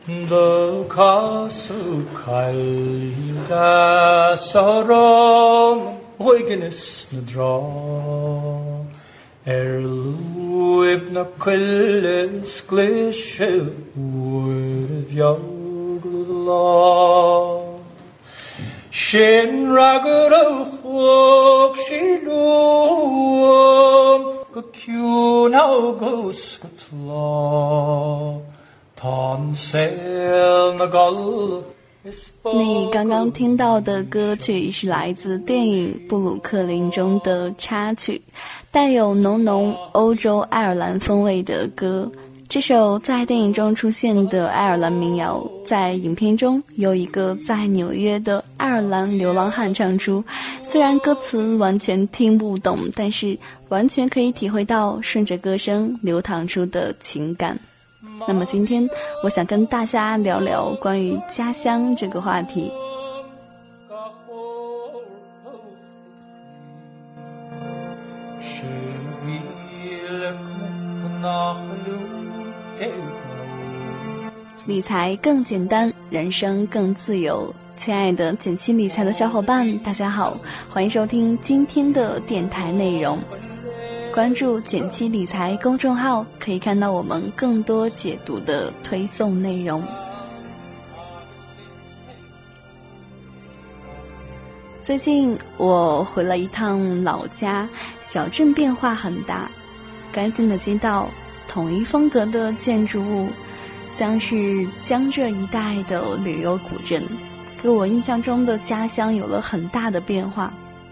더 가득할리라 사랑 hoigenes na dra luib na quilles glishe would la Shin ragad o'ch she loom go cune how goes go tla Tan sail na gal 你刚刚听到的歌曲是来自电影《布鲁克林》中的插曲，带有浓浓欧洲爱尔兰风味的歌。这首在电影中出现的爱尔兰民谣，在影片中由一个在纽约的爱尔兰流浪汉唱出，虽然歌词完全听不懂，但是完全可以体会到顺着歌声流淌出的情感。那么今天我想跟大家聊聊关于家乡这个话题。理财更简单，人生更自由。亲爱的简七理财的小伙伴，大家好，欢迎收听今天的电台内容。关注简七理财公众号，可以看到我们更多解读的推送内容。最近我回了一趟老家，小镇变化很大，干净的街道，统一风格的建筑物，像是江浙一带的旅游古镇，给我印象中的家乡有了很大的变化。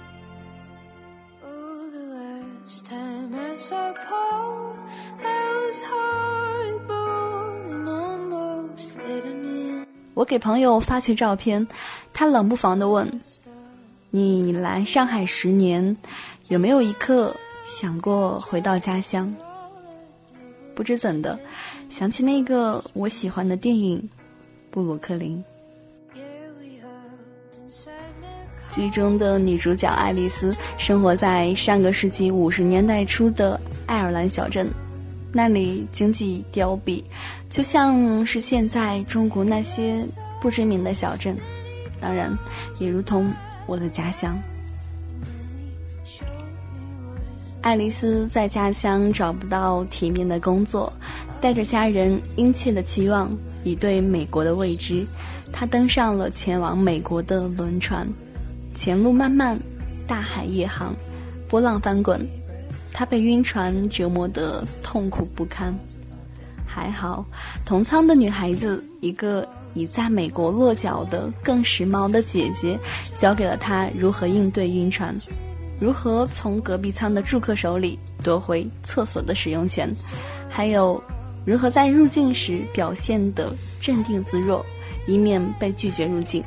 我给朋友发去照片，他冷不防地问，你来上海10年，有没有一刻想过回到家乡？不知怎的，想起那个我喜欢的电影《布鲁克林》。剧中的女主角爱丽丝生活在上个世纪50年代初的爱尔兰小镇，那里经济凋敝，就像是现在中国那些不知名的小镇，当然也如同我的家乡。爱丽丝在家乡找不到体面的工作，带着家人殷切的期望以对美国的未知，她登上了前往美国的轮船。前路漫漫，大海夜航，波浪翻滚，她被晕船折磨得痛苦不堪。还好同舱的女孩子，一个已在美国落脚的更时髦的姐姐，教给了她如何应对晕船，如何从隔壁舱的住客手里夺回厕所的使用权，还有如何在入境时表现得镇定自若，以免被拒绝入境。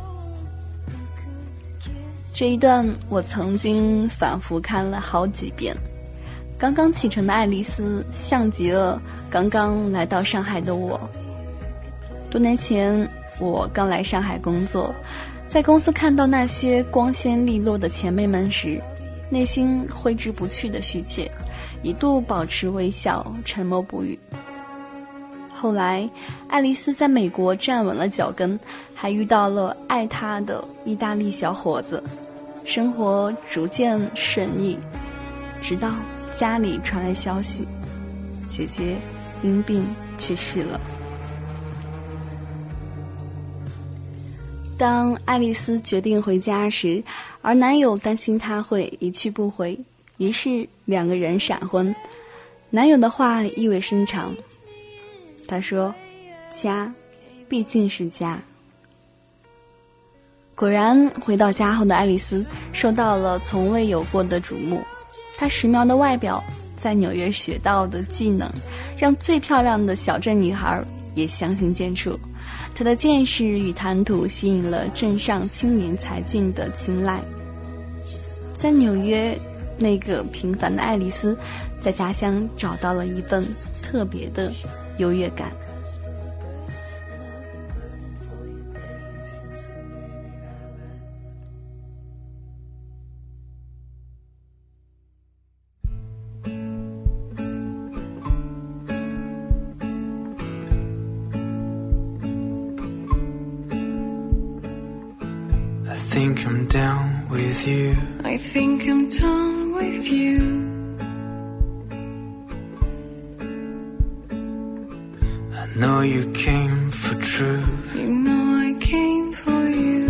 这一段我曾经反复看了好几遍。刚刚启程的爱丽丝像极了刚刚来到上海的我。多年前我刚来上海工作，在公司看到那些光鲜利落的前辈们时，内心挥之不去的虚怯，一度保持微笑，沉默不语。后来爱丽丝在美国站稳了脚跟，还遇到了爱她的意大利小伙子，生活逐渐顺意，直到家里传来消息，姐姐因病去世了。当爱丽丝决定回家时，而男友担心她会一去不回，于是2个人闪婚。男友的话意味深长，他说，家毕竟是家。果然回到家后的爱丽丝受到了从未有过的瞩目，她时髦的外表，在纽约学到的技能，让最漂亮的小镇女孩也相形见绌。她的见识与谈吐吸引了镇上青年才俊的青睐。在纽约，那个平凡的爱丽丝在家乡找到了一份特别的优越感。 think I'm down with you. I think I'm done with you. I know you came for truth. You know I came for you.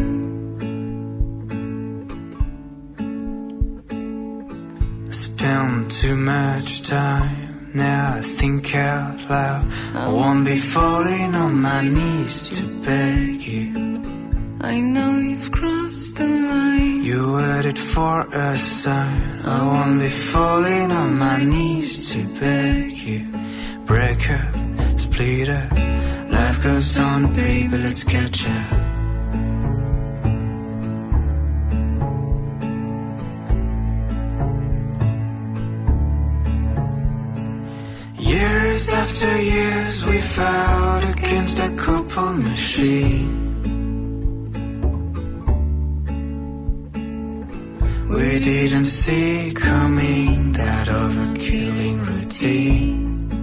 I spent too much time. Now I think out loud. I won't be falling on my knees to beg you. I know you've crossed the line. You waited for a sign. I won't be falling on my knees to beg you. Break up, split up. Life goes on, baby, let's catch up. Years after years we fought against a couple machine. We didn't see coming that overkilling routine.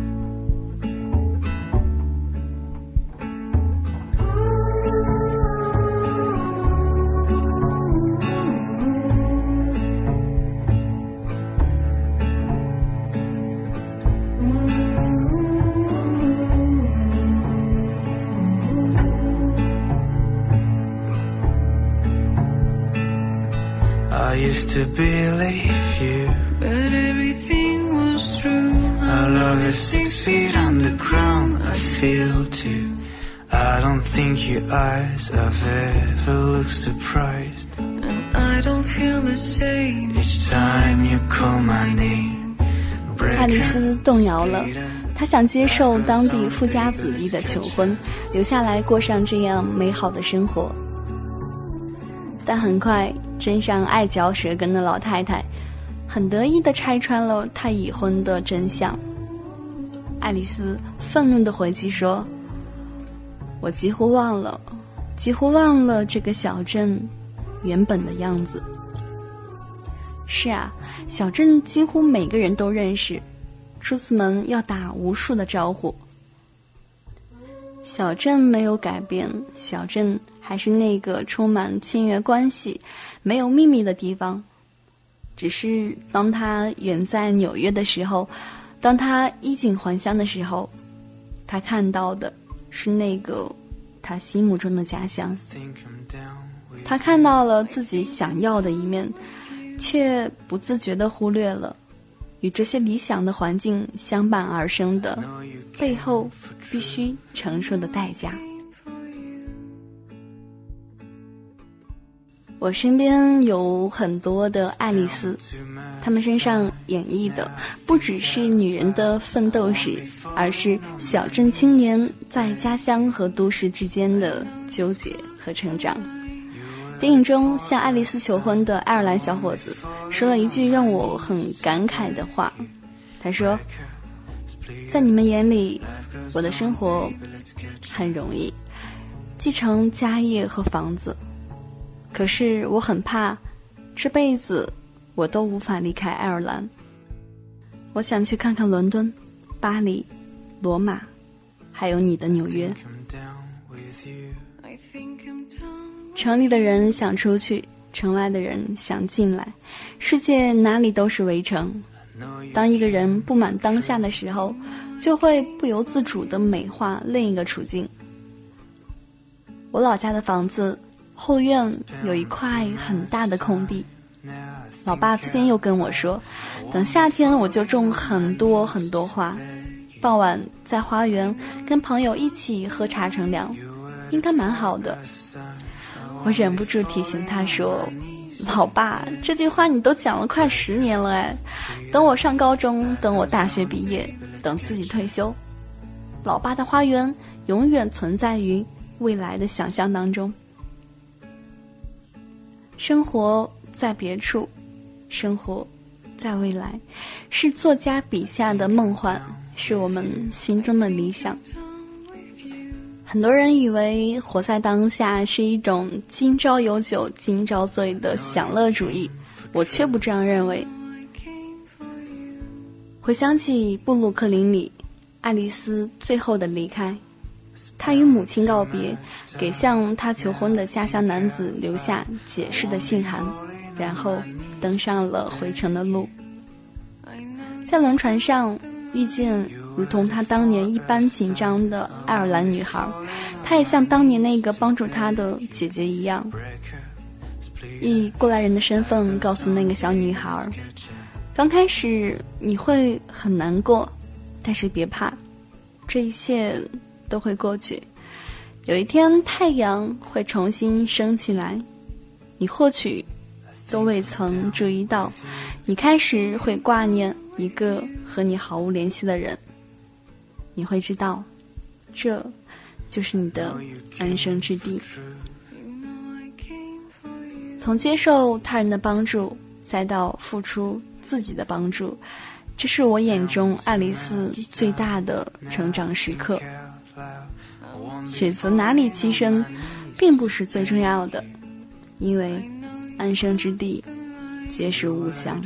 I used to believe you, but everything was true. our love is 6 feet underground, I feel too. I don't think your eyes have ever looked surprised. And I don't feel the same. Each time you call my name, 爱丽丝动摇了，她想接受当地富家子弟的求婚，留下来过上这样美好的生活。但很快，真上爱嚼舌根的老太太很得意地拆穿了她已婚的真相。爱丽丝愤怒地回击说：“我几乎忘了这个小镇原本的样子。”是啊，小镇几乎每个人都认识，出此门要打无数的招呼。小镇没有改变，小镇还是那个充满亲缘关系、没有秘密的地方。只是当他远在纽约的时候，当他衣锦还乡的时候，他看到的是那个他心目中的家乡。他看到了自己想要的一面，却不自觉地忽略了与这些理想的环境相伴而生的背后必须承受的代价。我身边有很多的爱丽丝，她们身上演绎的不只是女人的奋斗史，而是小镇青年在家乡和都市之间的纠结和成长。电影中向爱丽丝求婚的爱尔兰小伙子说了一句让我很感慨的话，他说：“在你们眼里，我的生活很容易，继承家业和房子。可是我很怕，这辈子我都无法离开爱尔兰。我想去看看伦敦、巴黎、罗马，还有你的纽约。城里的人想出去，城外的人想进来，世界哪里都是围城。当一个人不满当下的时候，就会不由自主地美化另一个处境。我老家的房子后院有一块很大的空地，老爸最近又跟我说，等夏天我就种很多很多花，傍晚在花园跟朋友一起喝茶乘凉，应该蛮好的。我忍不住提醒他说，老爸，这句话你都讲了快10年了哎，等我上高中，等我大学毕业，等自己退休，老爸的花园永远存在于未来的想象当中。生活在别处，生活在未来，是作家笔下的梦幻，是我们心中的理想。很多人以为活在当下是一种今朝有酒今朝醉的享乐主义，我却不这样认为。回想起布鲁克林里爱丽丝最后的离开， 他与母亲告别，给向他求婚的家乡男子留下解释的信函，然后登上了回程的路。在轮船上遇见如同他当年一般紧张的爱尔兰女孩，他也像当年那个帮助他的姐姐一样，以过来人的身份告诉那个小女孩，刚开始你会很难过，但是别怕，这一切都会过去，有一天太阳会重新升起来，你或许都未曾注意到，你开始会挂念一个和你毫无联系的人，你会知道，这就是你的安身之地。从接受他人的帮助，再到付出自己的帮助，这是我眼中爱丽丝最大的成长时刻。选择哪里栖身并不是最重要的，因为安身之地皆是吾乡。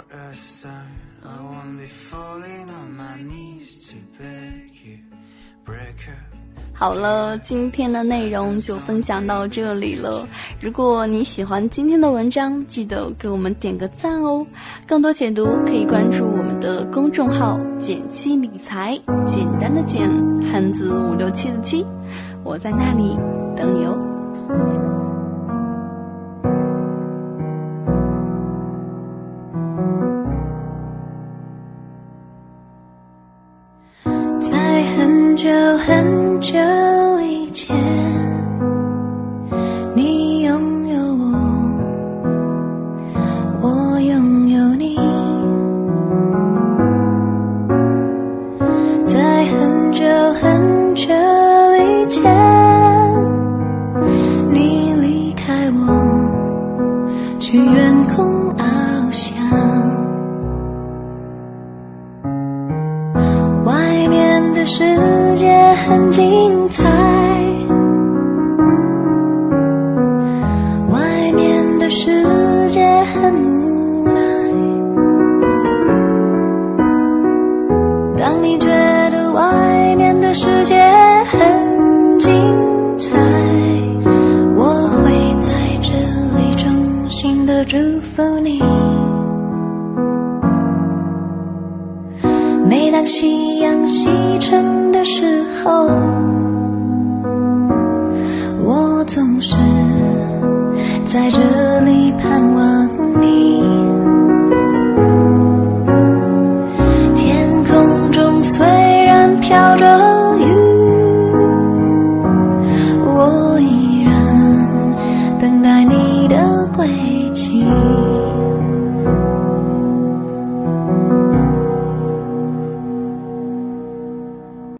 好了，今天的内容就分享到这里了。如果你喜欢今天的文章，记得给我们点个赞哦。更多解读可以关注我们的公众号简七理财，简单的简，汉字567的7，我在那里等你哦。 在很久很久以前，你拥有我，我拥有你。在很久很久以前，你离开我，去远空翱翔。外面的世界很精彩，外面的世界很无奈。当你觉得外面的世界很精彩，我会在这里衷心的祝福你。每当夕阳西沉的时候，我总是在这里盼望你。天空中虽然飘着雨，我依然等待你的归期。